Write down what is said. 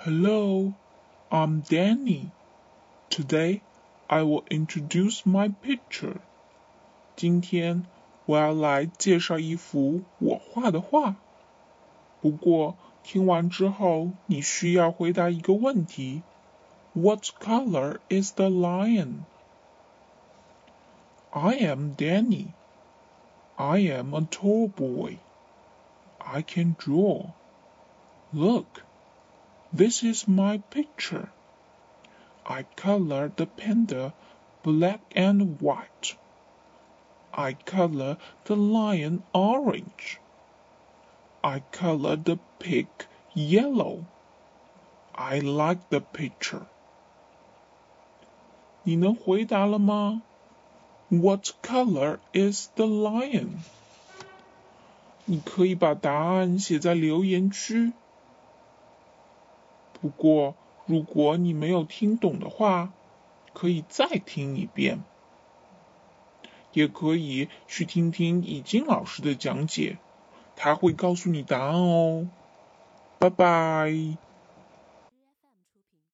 Hello, I'm Danny. Today, I will introduce my picture. 今天我要来介绍一幅我画的画。不过听完之后，你需要回答一个问题。What color is the lion? I am Danny. I am a tall boy. I can draw. Look, this is my picture. I color the panda black and white. I color the lion orange. I color the pig yellow. I like the picture. 你能回答了吗？ What color is the lion? 你可以把答案写在留言区。不过，如果你没有听懂的话，可以再听一遍，也可以去听听已经老师的讲解，他会告诉你答案哦。拜拜。